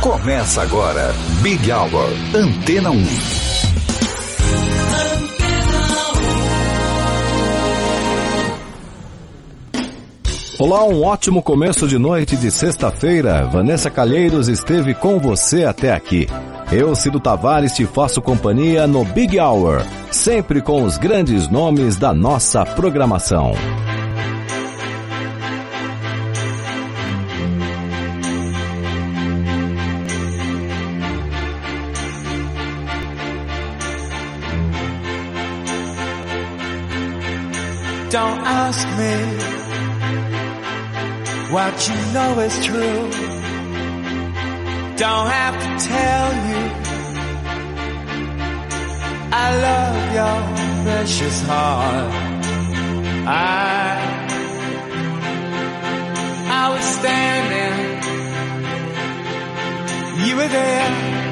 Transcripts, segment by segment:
Começa agora, Big Hour, Antena 1. Olá, um ótimo começo de noite de sexta-feira. Vanessa Calheiros esteve com você até aqui. Eu, Cido Tavares, te faço companhia no Big Hour, sempre com os grandes nomes da nossa programação. Don't ask me what you know is true. Don't have to tell you I love your precious heart. I was standing, you were there.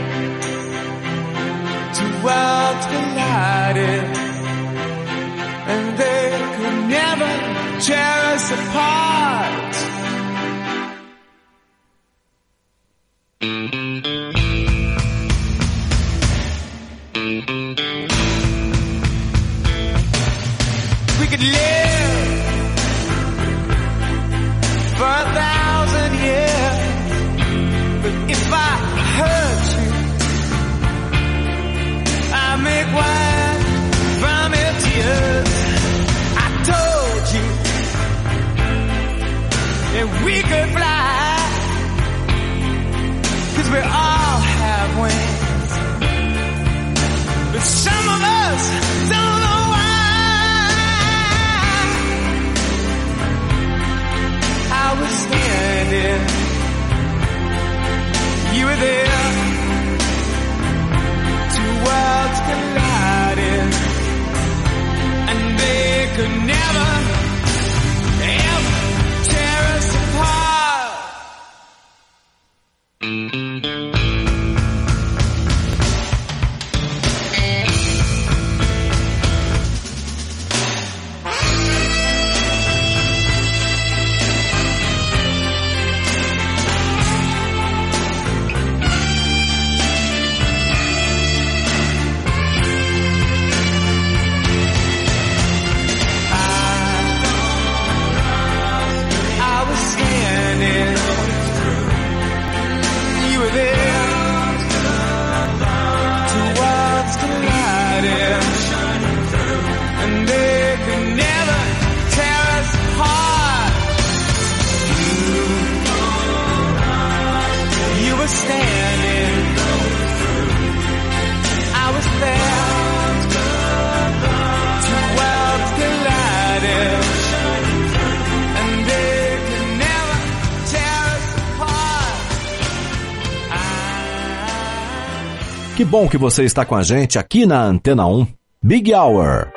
Two worlds collided, and they could never tear us apart. We could live for 1,000 years, but if I hurt you, I make wine from your tears. I told you that we could fly, 'cause we all have wings, but some of us don't know why. I was standing, you were there. Two worlds collided, and they could never, ever tear us apart. Que bom que você está com a gente aqui na Antena 1, Big Hour.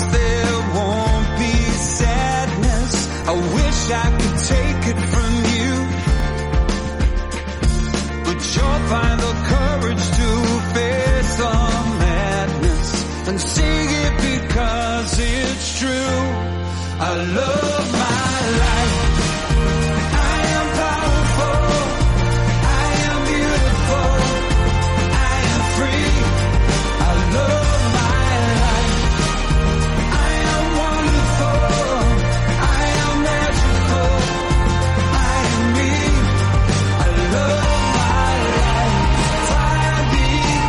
I wish I could take it from you. love my life. I am powerful. I am beautiful. I am free. I love my life. I am wonderful. I am magical. I am me. I love my life. Fire beat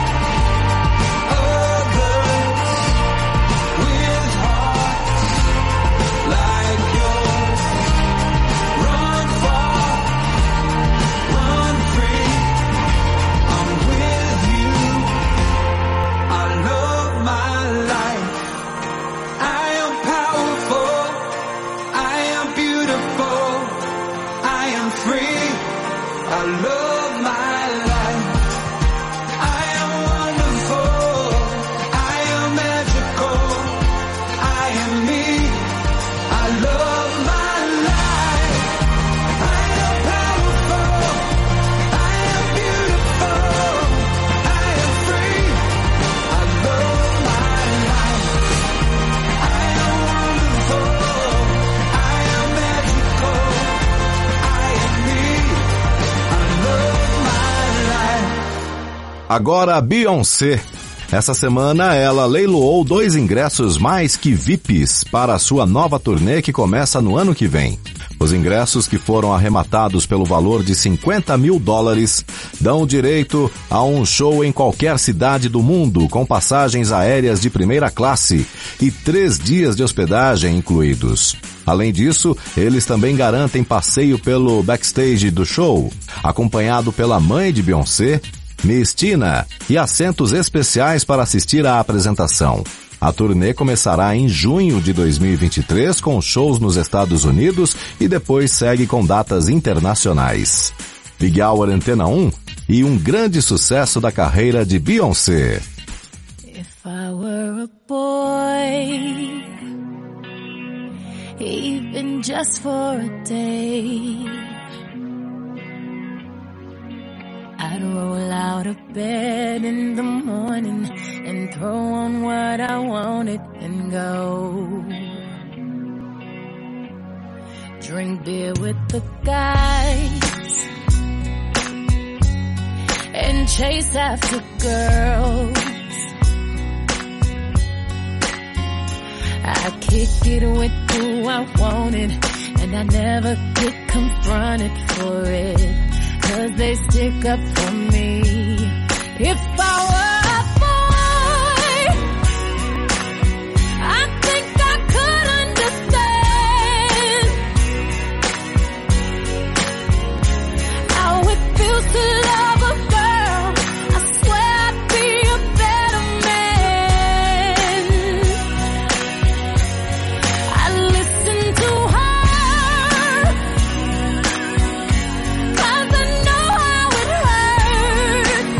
others with hearts like yours. Run far, run free. I'm with you. I love my life. I am powerful. I am beautiful. I am free. I love my life. I am wonderful. I am magical. I am me. I love my life. I am powerful. I am beautiful. I am free. I love my life. I am wonderful. I am magical. I am me. I love my life. Agora a Beyoncé. Essa semana ela leiloou 2 ingressos mais que VIPs para a sua nova turnê que começa no ano que vem. Os ingressos, que foram arrematados pelo valor de $50 mil, dão direito a um show em qualquer cidade do mundo, com passagens aéreas de primeira classe e 3 dias de hospedagem incluídos. Além disso, eles também garantem passeio pelo backstage do show, acompanhado pela mãe de Beyoncé, Miss Tina, e assentos especiais para assistir à apresentação. A turnê começará em junho de 2023 com shows nos Estados Unidos e depois segue com datas internacionais. Big Hour Antena 1 e um grande sucesso da carreira de Beyoncé. If I were a boy, even just for a day, I'd roll out of bed in the morning and throw on what I wanted and go. Drink beer with the guys and chase after girls. I kick it with who I wanted, and I never get confronted for it, 'cause they stick up for me. If I were a boy, I think I could understand how it feels to love a girl. I swear I'd be a better man. I listen to her, 'cause I know how it hurts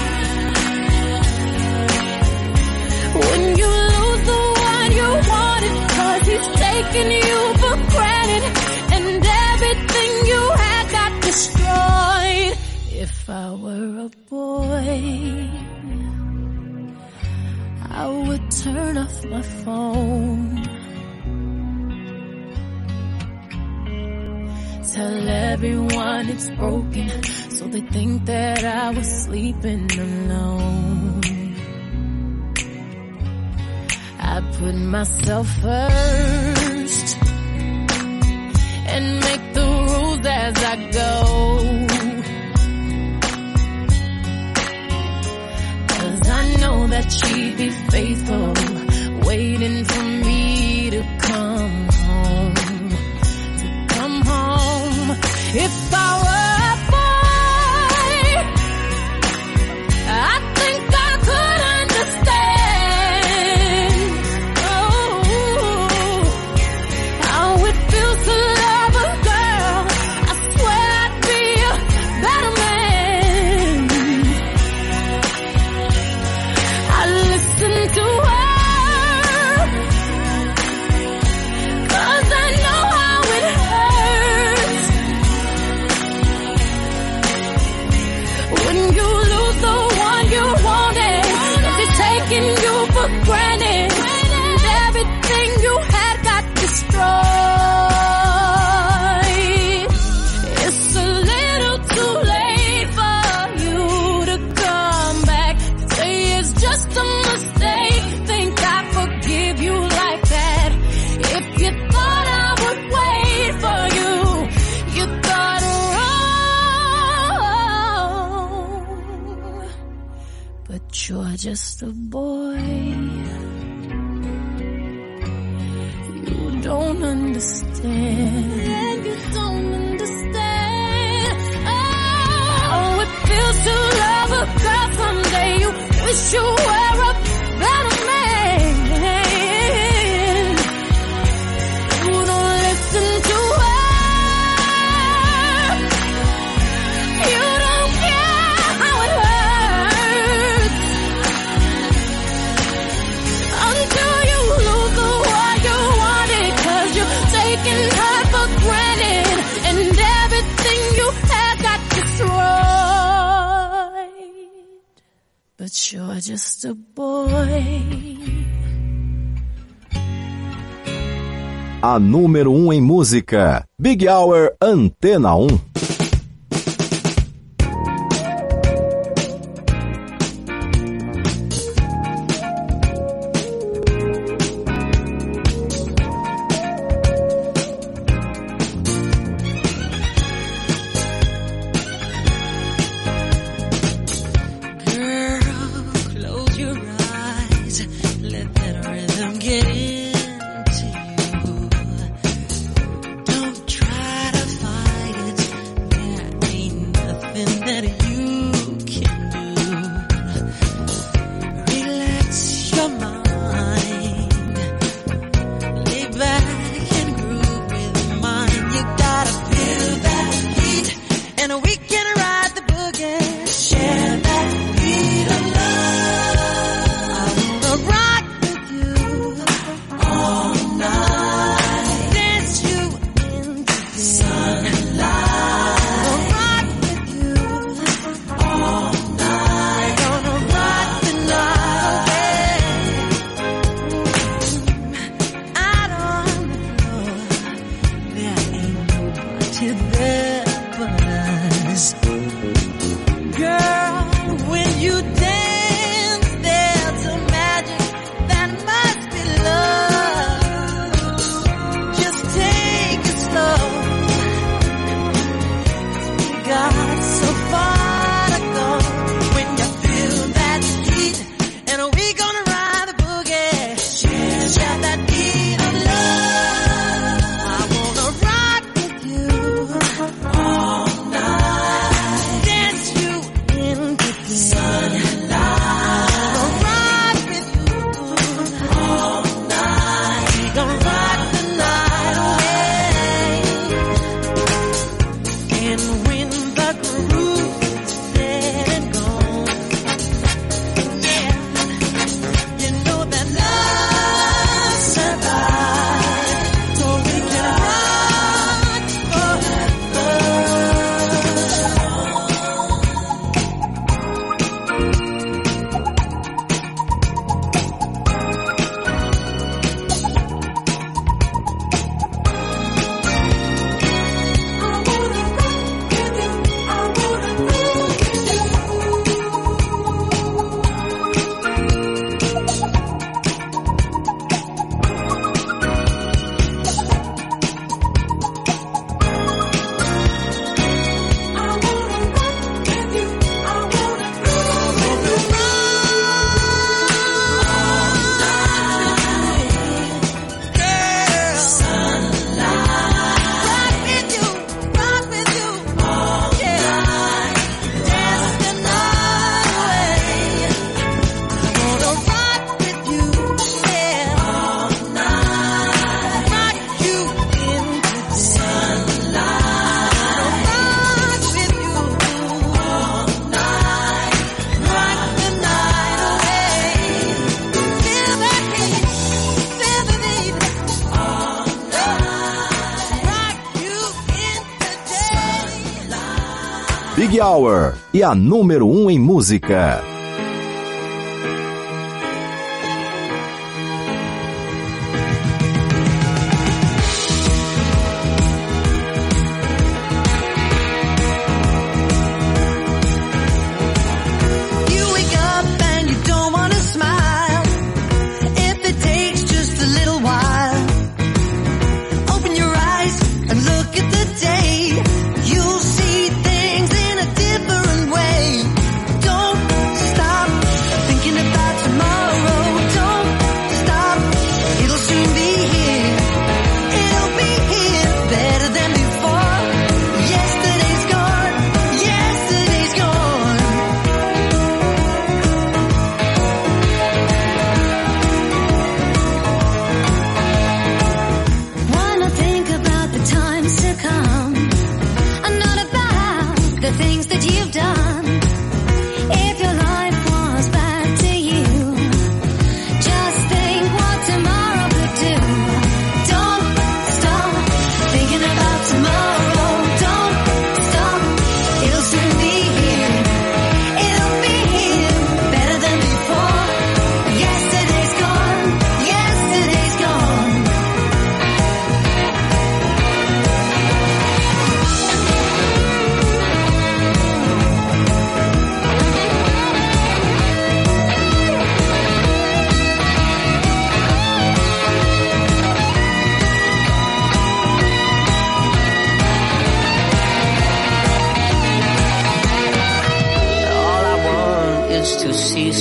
when you lose the one you wanted, 'cause he's taking you for granted and everything you had got destroyed. If I were a boy, I would turn off my phone, tell everyone it's broken, so they think that I was sleeping alone. I put myself first and make the rules as I go, 'cause I know that she'd be faithful, waiting for me to come home. If I were a boy, I think I could understand, oh, how it feels to love a girl. I swear I'd be a better man. I listen to her, you're just a boy. You don't understand. Yeah, you don't understand. Oh, it feels to love a girl someday. You wish you were a better man. You don't listen to her. You don't care how it hurts until you lose the one you wanted, 'cause you're taking her for granted and everything you had got destroyed. But you're just a boy. A número 1 em música, Big Hour Antena 1. Close your eyes, let that rhythm get into you. Don't try to fight it, there ain't nothing that you can do. Relax your mind, lay back and groove with mine. You gotta feel that heat, and we can ride the boogie. Share that beat of love. I wanna rock with you all night. Dance you into the sunlight. Gonna rock with you all night. Gonna rock the night away. Out on the floor, there ain't nobody there but us. Girl, when you dance, there's a magic that must be love. Just take it slow. We got so far to go. When you feel that heat, and we gonna ride the boogie. Share that beat of love. I wanna rock with you all night. Dance you into the sunlight. Gonna rock with you all night. We gonna rock the night away. And when the groove is dead and gone, yeah, you know that love survives, so we can rock forever. Big Hour e a número 1 em música. You wake up and you don't wanna smile. If it takes just a little while, open your eyes and look at the day. You'll see things in a different way. Don't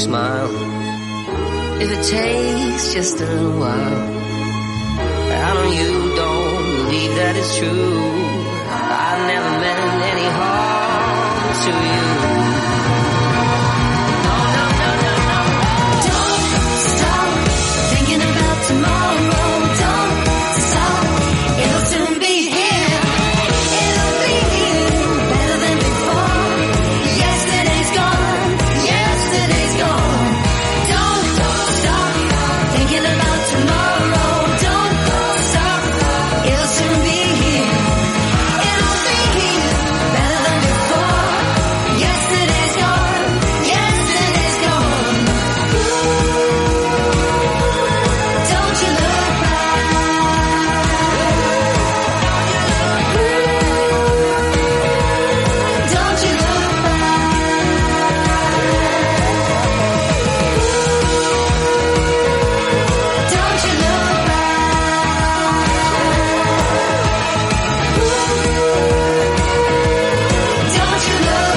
smile. If it takes just a little while, I know you don't believe that it's true. I've never meant any harm to you. No, no, no, no, no. Don't stop thinking about tomorrow. Don't stop, it'll soon be here. It'll be here, better than before. Yesterday's gone, yesterday's gone. Don't stop thinking about tomorrow. Don't stop, it'll soon be here. It'll be here, better than before. Yesterday's gone, yesterday's gone. Don't you look back. Don't you look back. Don't you look back. Don't you look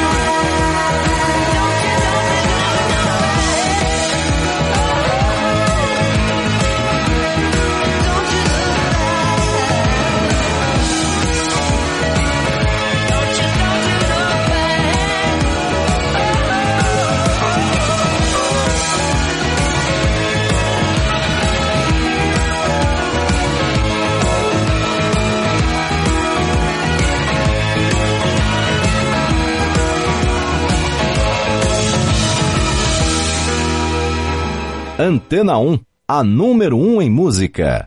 Antena 1, a número 1 em música.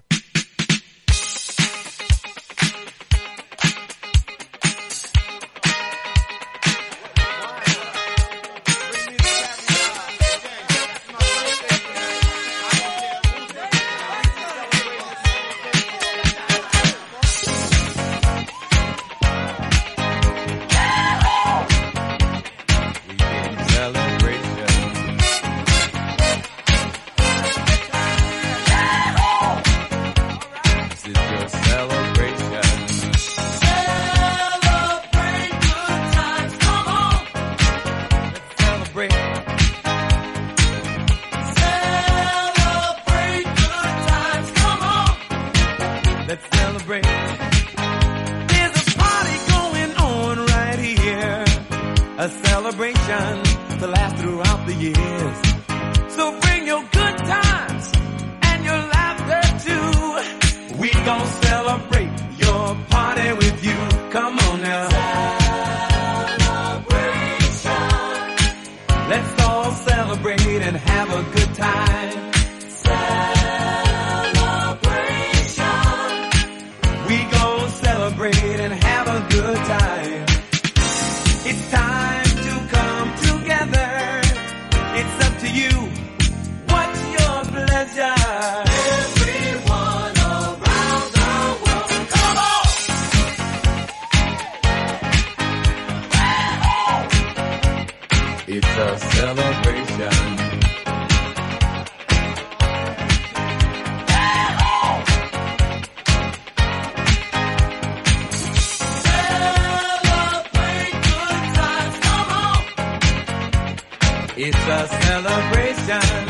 A celebration to last throughout the years. So bring your good times and your laughter too. We gon' celebrate your party with you. Come on now. Celebration. Let's all celebrate and have a good time. Celebration. We gon' celebrate and have a good time. It's time to come together. It's up to you. What's your pleasure? Everyone around the world, come on! It's a celebration. It's a celebration.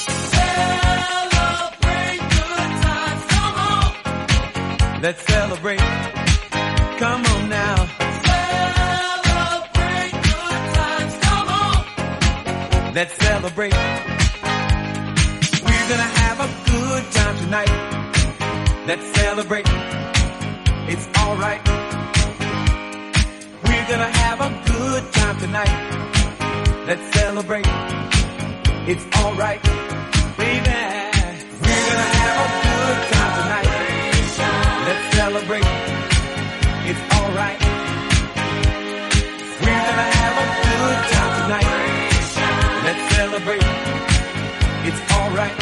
Celebrate good times, come on. Let's celebrate. Come on now. Celebrate good times, come on. Let's celebrate. We're gonna have a good time tonight. Let's celebrate. It's alright. We're gonna have a good time tonight. Let's celebrate. It's alright, baby. We're gonna have a good time tonight. Let's celebrate. It's alright. We're gonna have a good time tonight. Let's celebrate. It's alright.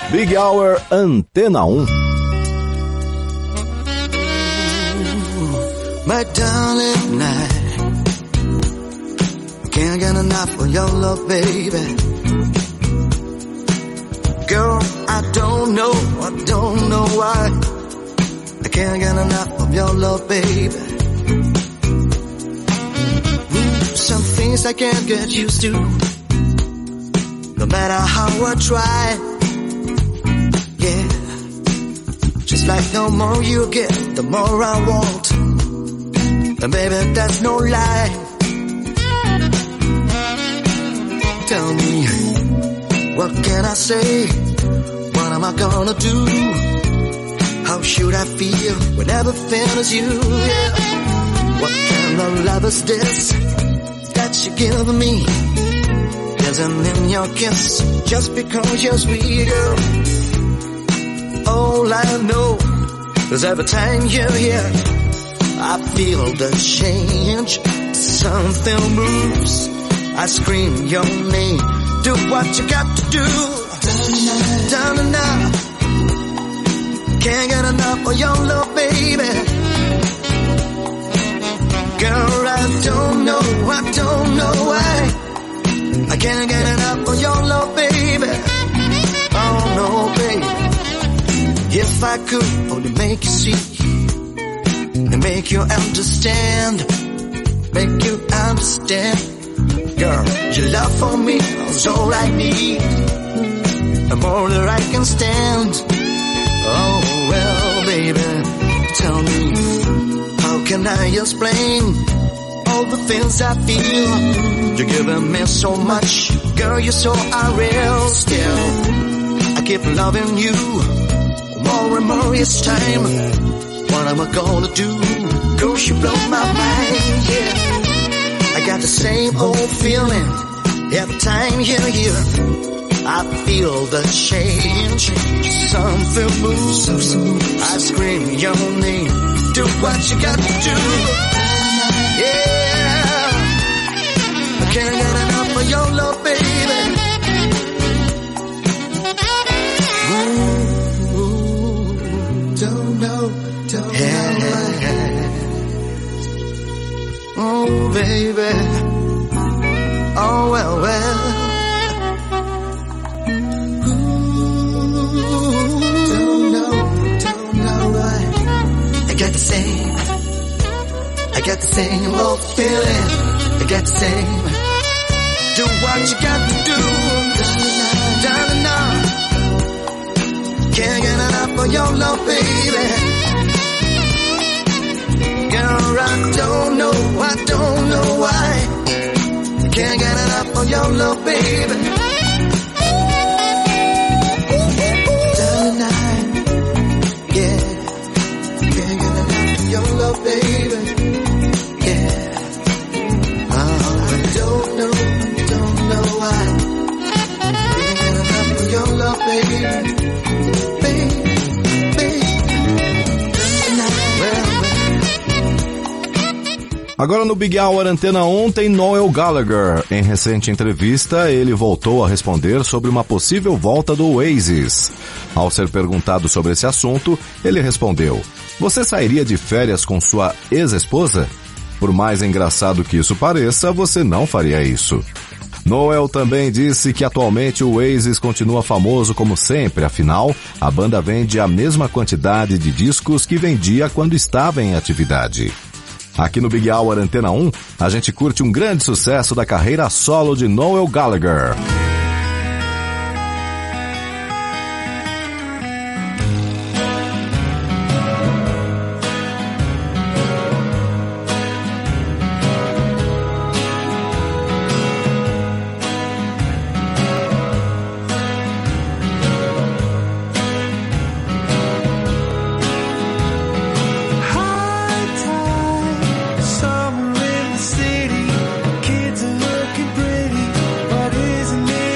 Big Hour Antena 1. My darling, I can't get enough of your love, baby. Girl, I don't know why. I can't get enough of your love, baby. Some things I can't get used to, no matter how I try. Yeah, just like the more you get, the more I want. And baby, that's no lie. Tell me, what can I say? What am I gonna do? How should I feel when everything is you? Yeah. What kind of love is this that you give me? Isn't in your kiss just because you're sweet, girl. All I know is every time you're here, I feel the change. Something moves. I scream your name. Do what you got to do. Done enough. Can't get enough of your love, baby. Girl, I don't know why. I can't get enough of your love, baby. Oh no, baby. If I could only make you see and make you understand, girl, your love for me is all I need, and more than I can stand. Oh well, baby, tell me, how can I explain all the things I feel? You're giving me so much, girl, you're so unreal. Still, I keep loving you more and more each time. What am I gonna do? Girl, you blow my mind, yeah. I got the same old feeling every time you're here. I feel the change. Something moves. I scream your name. Do what you got to do. Yeah. I can't get enough of your love, baby. Ooh, don't know. Oh, baby. Oh, well. Don't know why. I got the same old feeling. I got the same. Do what you got to do. Darling, no. Can't get enough of your love, baby. Girl, I don't know why. I can't get enough of your love, baby. Darling, yeah. Can't get enough of your love, baby. Yeah. I don't know why. Can't get enough of your love, baby. Agora no Big Hour Antena 1 tem Noel Gallagher. Em recente entrevista, ele voltou a responder sobre uma possível volta do Oasis. Ao ser perguntado sobre esse assunto, ele respondeu: "Você sairia de férias com sua ex-esposa? Por mais engraçado que isso pareça, você não faria isso." Noel também disse que atualmente o Oasis continua famoso como sempre, afinal, a banda vende a mesma quantidade de discos que vendia quando estava em atividade. Aqui no Big Hour Antena 1, a gente curte um grande sucesso da carreira solo de Noel Gallagher. Summer in the city, kids are looking pretty, but isn't it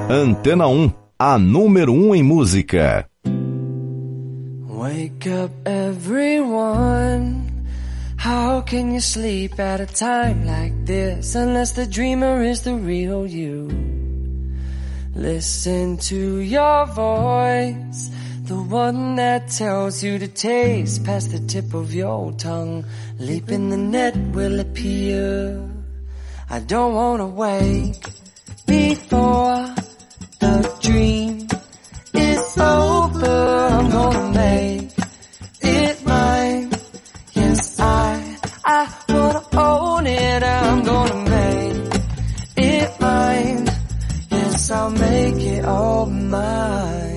Antena 1, a número 1 em música. Wake up everyone. How can you sleep at a time like this unless the dreamer is the real you? Listen to your voice, the one that tells you to taste past the tip of your tongue. Leap in the net will appear. I don't wanna wake before the dream is over. I'm gonna make it mine. Yes, I wanna own it. I'm gonna make it mine. Yes, I'll make it all mine.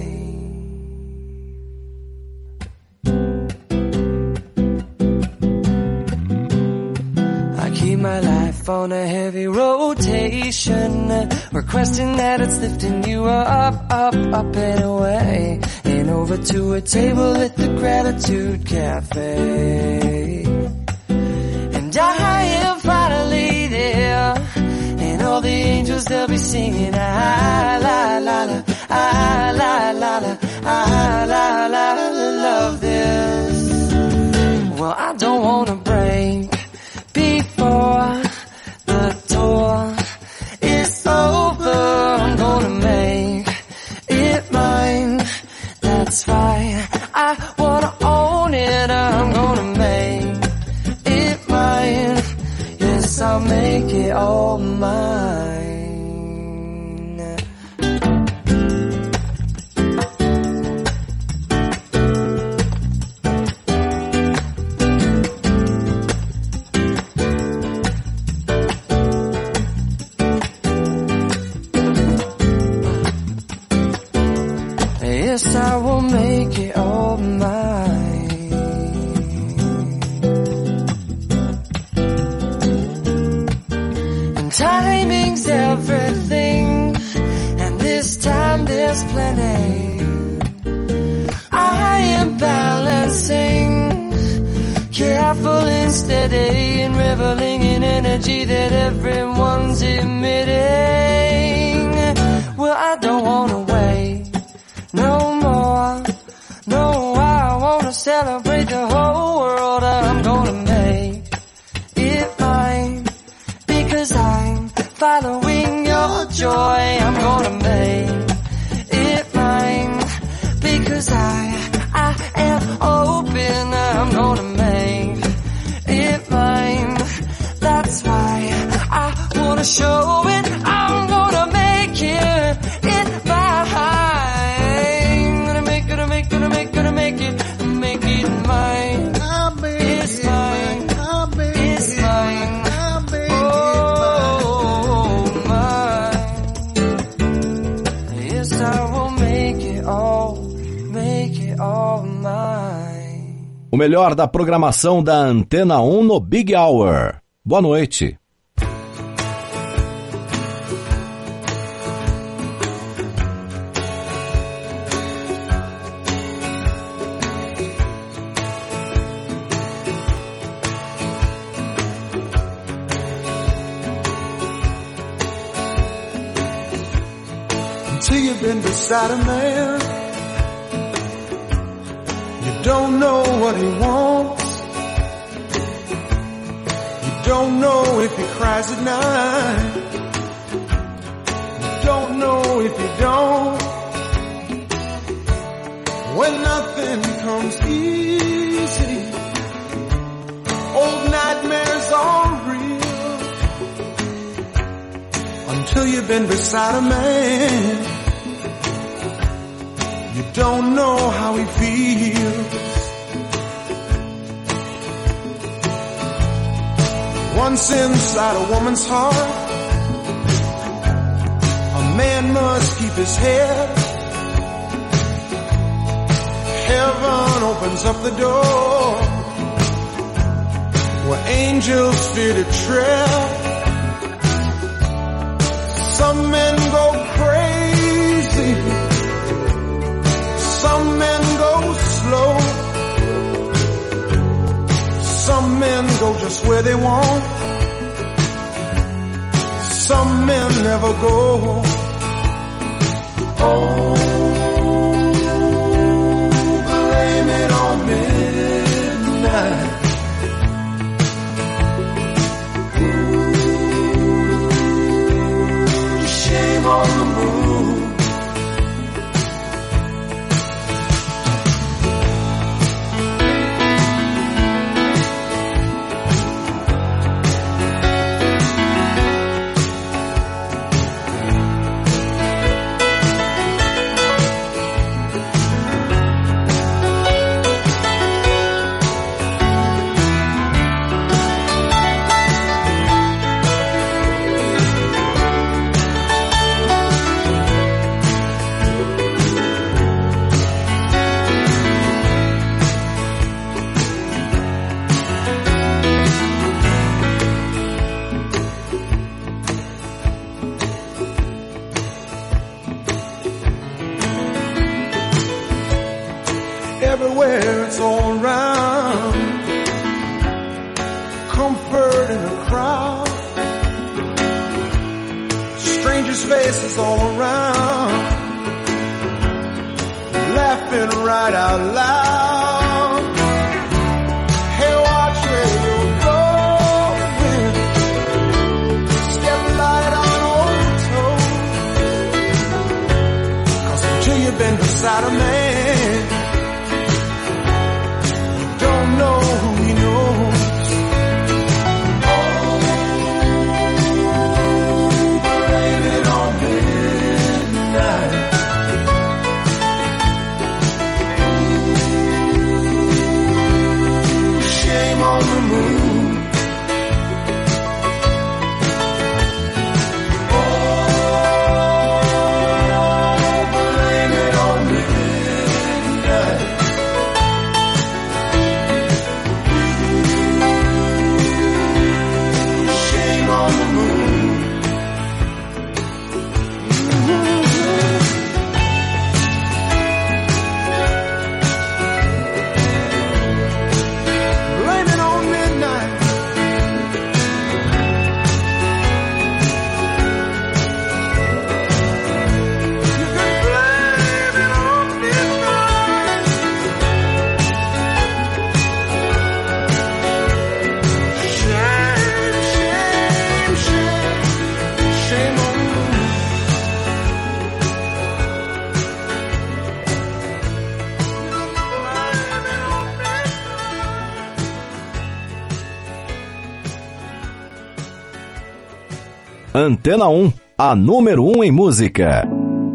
I keep my life on a heavy rotation, requesting that it's lifting you up, up, up and away, and over to a table at the Gratitude Cafe. And I am finally there, and all the angels they'll be singing, ah la la la, ah la la la, ah la la la, love this. Well, I don't wanna break before the door is over. I'm gonna make it mine. That's right, I wanna own it. I'm gonna make it mine. Yes, I'll make it all mine. Yes, I will make it all mine. And timing's everything, and this time there's plenty. I am balancing, careful and steady, and reveling in energy that everyone's emitting. Well, I don't wanna wait no more, no, I wanna celebrate the whole world. I'm gonna make it mine, because I'm following your joy. I'm gonna make it mine, because I am open. I'm gonna make it mine. That's why I wanna show it. I'm gonna make it mine. Mine. It's mine. It's mine. Oh, mine. Yes, I will make it all mine. O melhor da programação da Antena 1 no Big Hour. Boa noite. Until you've been beside a man, you don't know what he wants. You don't know if he cries at night. You don't know if you don't. When nothing comes easy, old nightmares are real. Until you've been beside a man, you don't know how he feels. Once inside a woman's heart, a man must keep his head. Heaven opens up the door where angels fear to tread. Some men go crazy, some men go slow, some men go just where they want, some men never go. Oh, blame it on midnight. Ooh, shame on the moon. Everywhere it's all around, comfort in a crowd, strangers' faces all around, laughing right out loud. Hey, watch where you're going, step light on over toe, 'cause until you've been beside a man, know who he knows. Oh, blame it on midnight. Shame on the moon. Oh, blame it on midnight. On the moon. Blame it on midnight. You can blame it on midnight. Shame, shame, shame. Shame on you. Antena 1, a número 1 em música.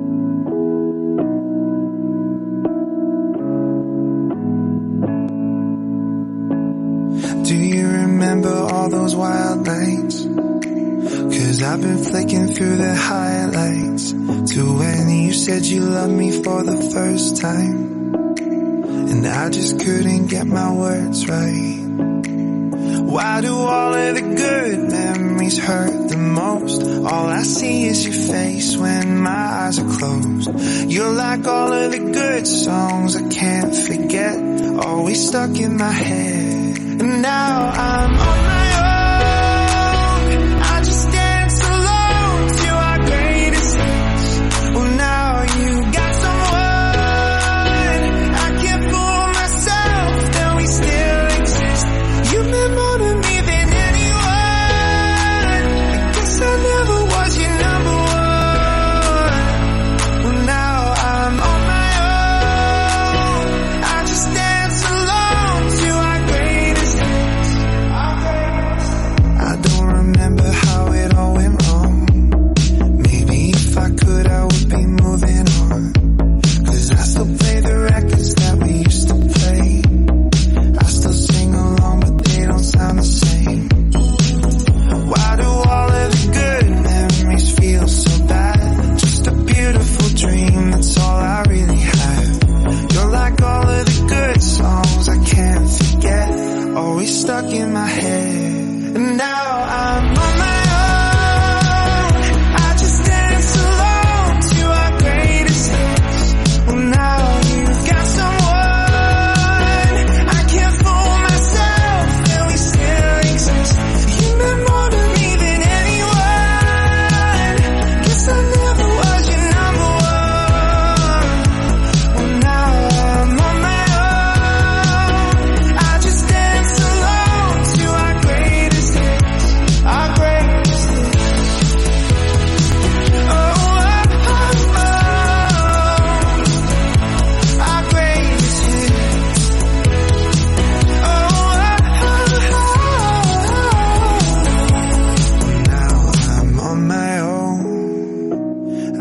Do you remember all those wild nights? 'Cause I've been flicking through the highlights to when you said you loved me for the first time, and I just couldn't get my words right. Why do all of the good memories hurt the most? All I see is your face when my eyes are closed. You're like all of the good songs I can't forget, always stuck in my head. And now I'm on my own, I just dance alone to our greatest hits. Well, now you got someone, I can't fool myself that we still exist. You meant more to me than anyone, I guess I never was your number one. Well, now I'm on my own, I just dance alone to our greatest hits.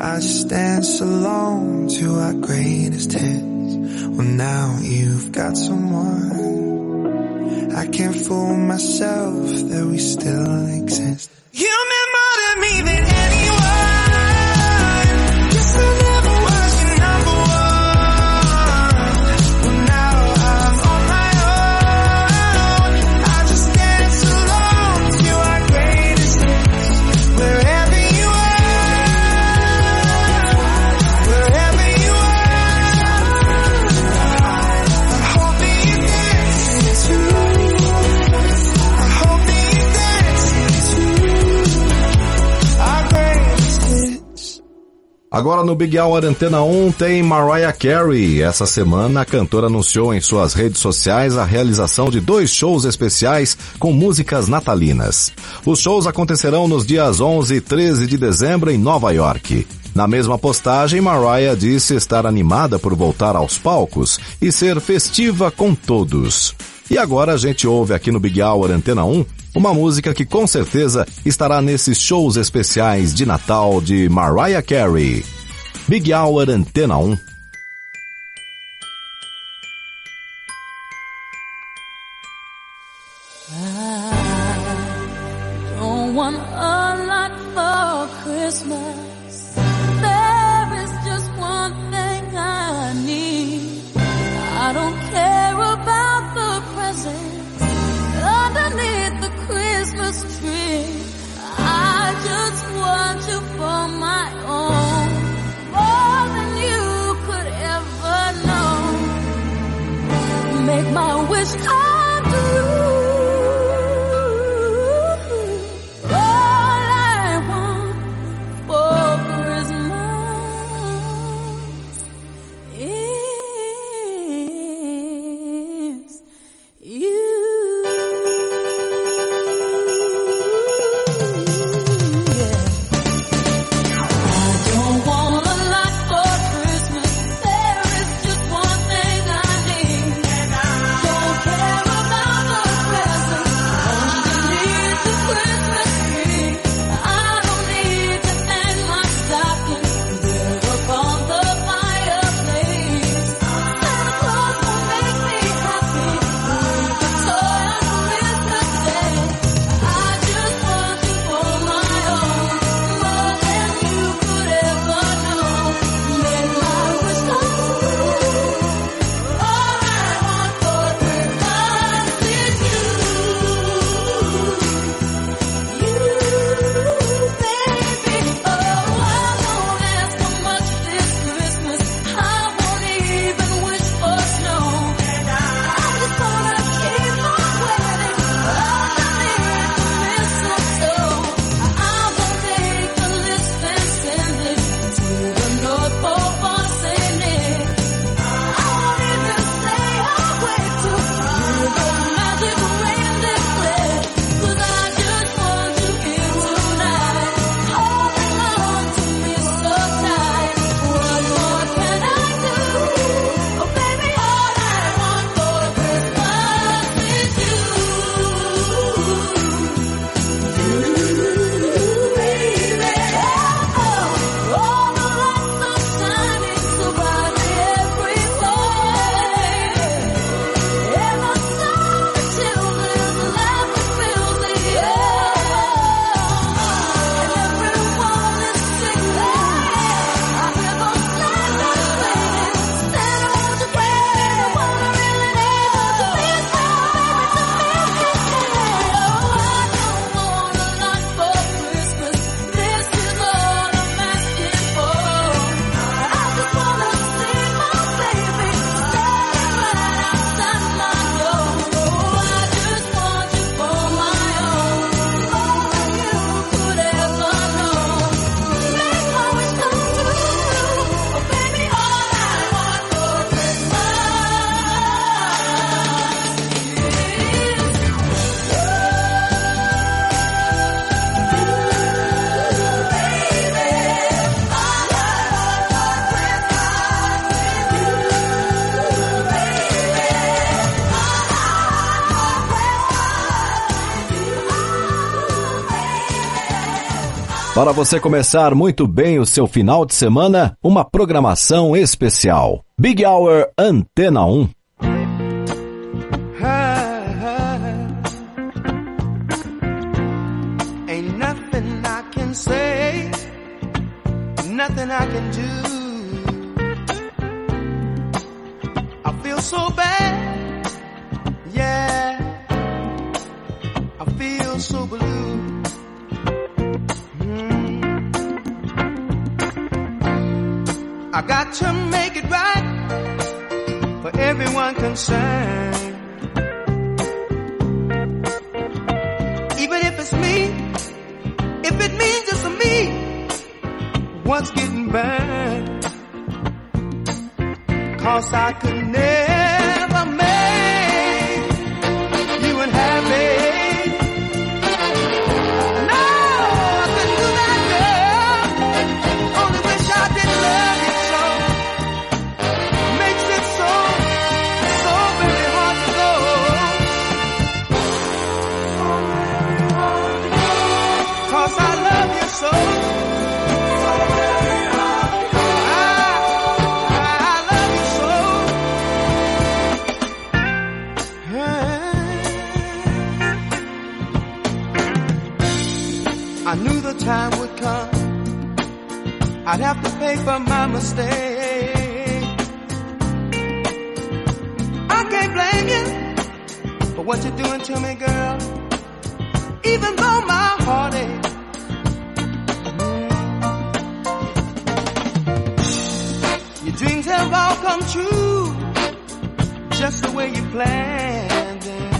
I just dance alone to our greatest hits. Well, now you've got someone. I can't fool myself that we still exist. You meant more to me than anyone. Guess I never was your number one. Well, now I'm on my own. I just dance alone to our greatest hits. Wherever you are, wherever you are, I hope that you dance too. I hope that you dance too. Our greatest hits. Agora no Big Hour Antena 1 tem Mariah Carey. Essa semana a cantora anunciou em suas redes sociais a realização de 2 shows especiais com músicas natalinas. Os shows acontecerão nos dias 11 e 13 de dezembro em Nova York. Na mesma postagem, Mariah disse estar animada por voltar aos palcos e ser festiva com todos. E agora a gente ouve aqui no Big Hour Antena 1 uma música que com certeza estará nesses shows especiais de Natal de Mariah Carey. Big Hour Antena 1. Don't want a lot for Christmas. There is just one thing I need. I don't care about the presents underneath the Christmas tree. I just want you for my own, more than you Para você começar muito bem o seu final de semana, uma programação especial. Big Hour Antena 1. Ain't nothing I can say, nothing I can do. I feel so bad, yeah, I feel so blue. I got to make it right for everyone concerned. Even if it's me, if it means just me, what's getting burned? 'Cause I could never make you unhappy. I knew the time would come, I'd have to pay for my mistake. I can't blame you for what you're doing to me, girl, even though my heart aches. Your dreams have all come true, just the way you planned them.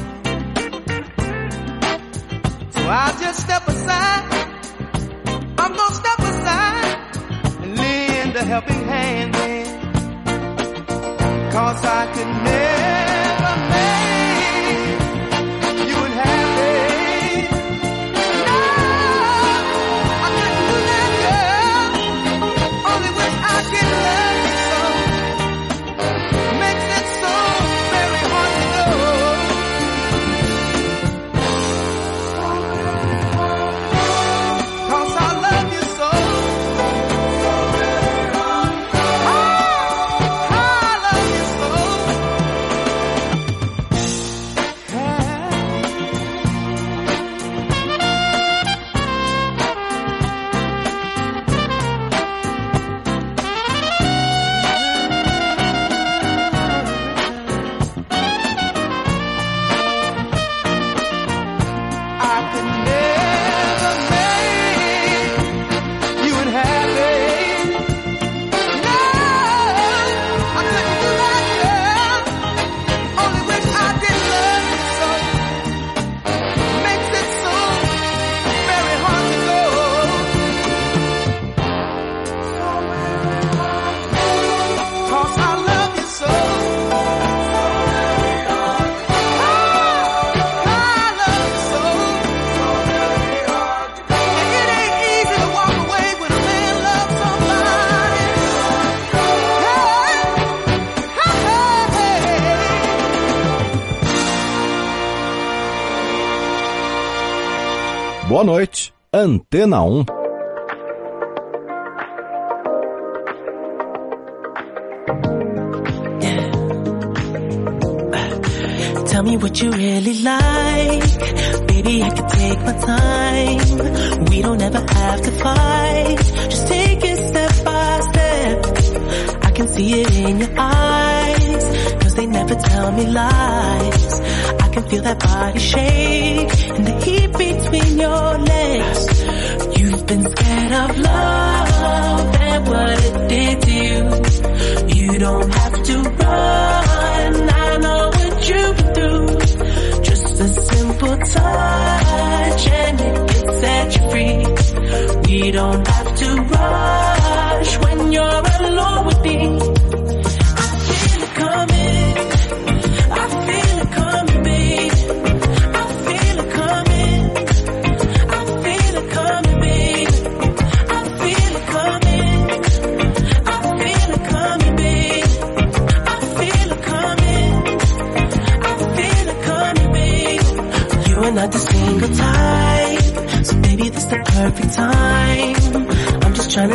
So I'll just step aside, I'm gonna step aside and lend a helping hand then. 'Cause I could never make you unhappy. No, I couldn't do that, girl. Only wish I could love you so. Makes it so very hard to know. 'Cause I love you so. I love you so. I could never make you unhappy. No, I couldn't do that, girl. Only wish I did love you so. Makes it so very hard to go. 'Cause I love you so. I love you so. And it ain't easy to walk away when a man loves somebody. Boa noite, Antena 1. Tell me what you really like. Baby, I can take my time. We don't ever have to fight. Just take it step by step. I can see it in your eyes, 'cause they never tell me lies. I can feel that body shake and the heat between your legs. You've been scared of love and what it did to you. You don't have to run, I know what you've been through. Just a simple touch and it can set you free. We don't have to rush when you're alone with me. I feel it coming, I feel it coming, babe. I feel it coming, I feel it coming, babe. I feel it coming, I feel it coming, babe. I feel it coming, I feel it coming, babe. You are not the single type, so baby, this the perfect time.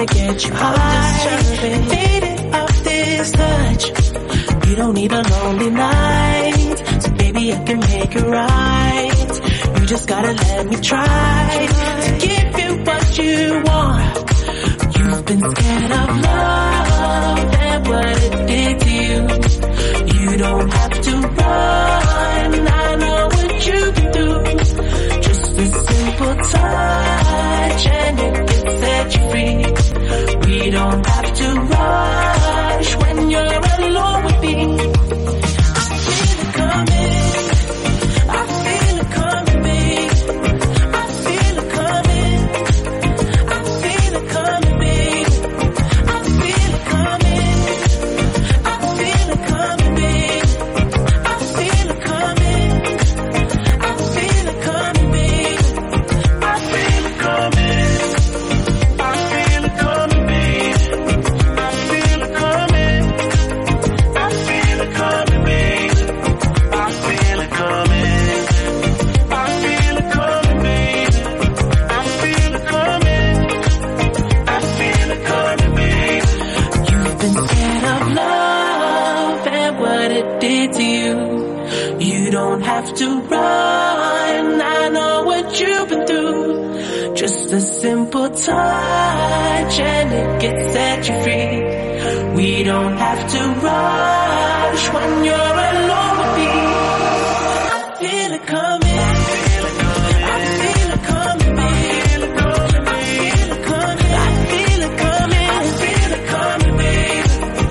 to get you high. Faded off this touch. You don't need a lonely night, so baby I can make it right. You just gotta let me try to give you what you want. You've been scared of love and what it did to you. You don't have to run, I know what you've been through. Just a simple touch and it can set you free. We don't have to rush when you're alone with me. I feel it coming, I feel it coming, babe. I feel it coming, I feel it coming, babe. I feel it coming, I feel it coming, babe. I feel it coming, I feel it coming, babe. I feel it coming, I feel it coming, babe. I feel it coming, I feel it coming, babe. I feel it coming, I feel it coming, babe. I feel it coming, I feel it coming, babe. You've been scared of love and what it did to you. You don't have to run, I know what you've been through. Just a simple touch and it can set you free. We don't have to rush when you're alone with me. I feel it coming, I feel it coming, babe. I feel it coming, I feel it coming, I feel it coming, babe.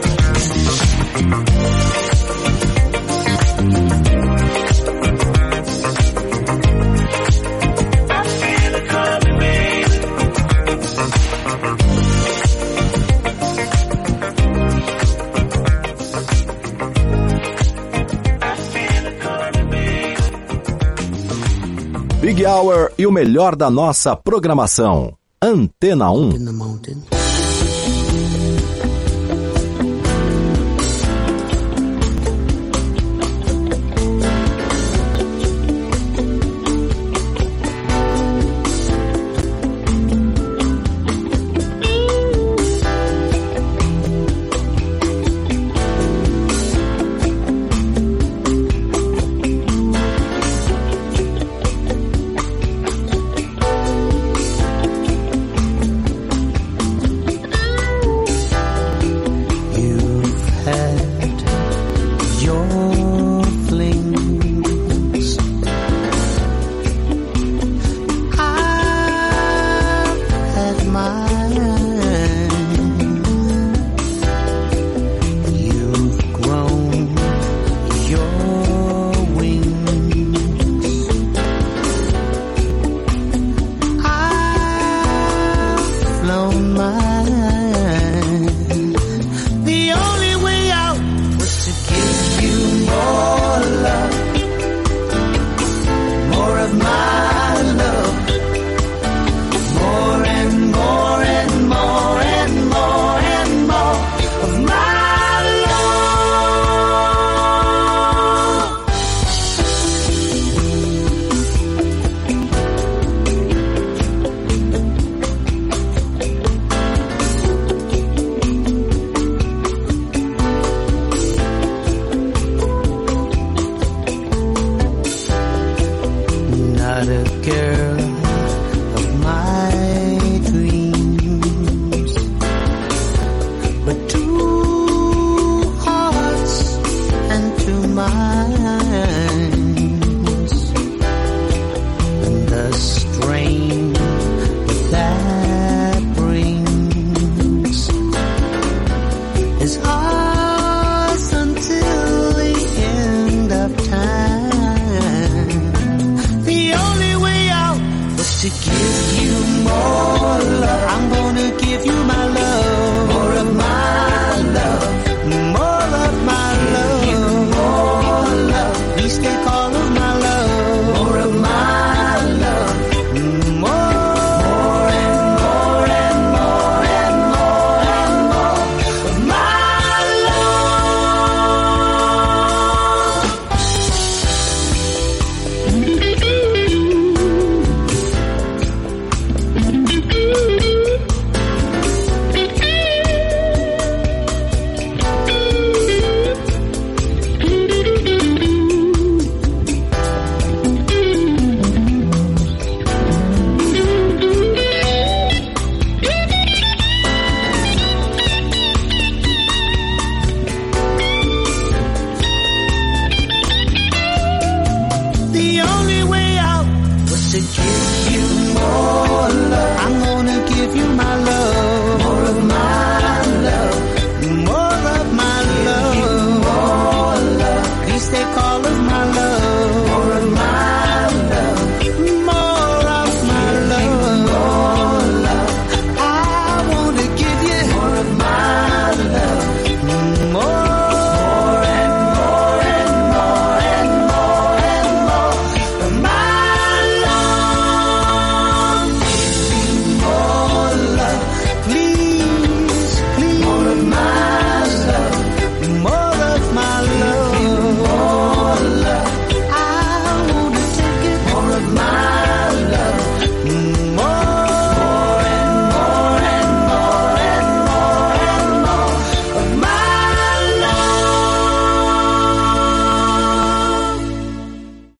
I feel it coming, babe. I feel it coming, babe. Big Hour e o melhor da nossa programação. Antena 1. In the mountain. You've had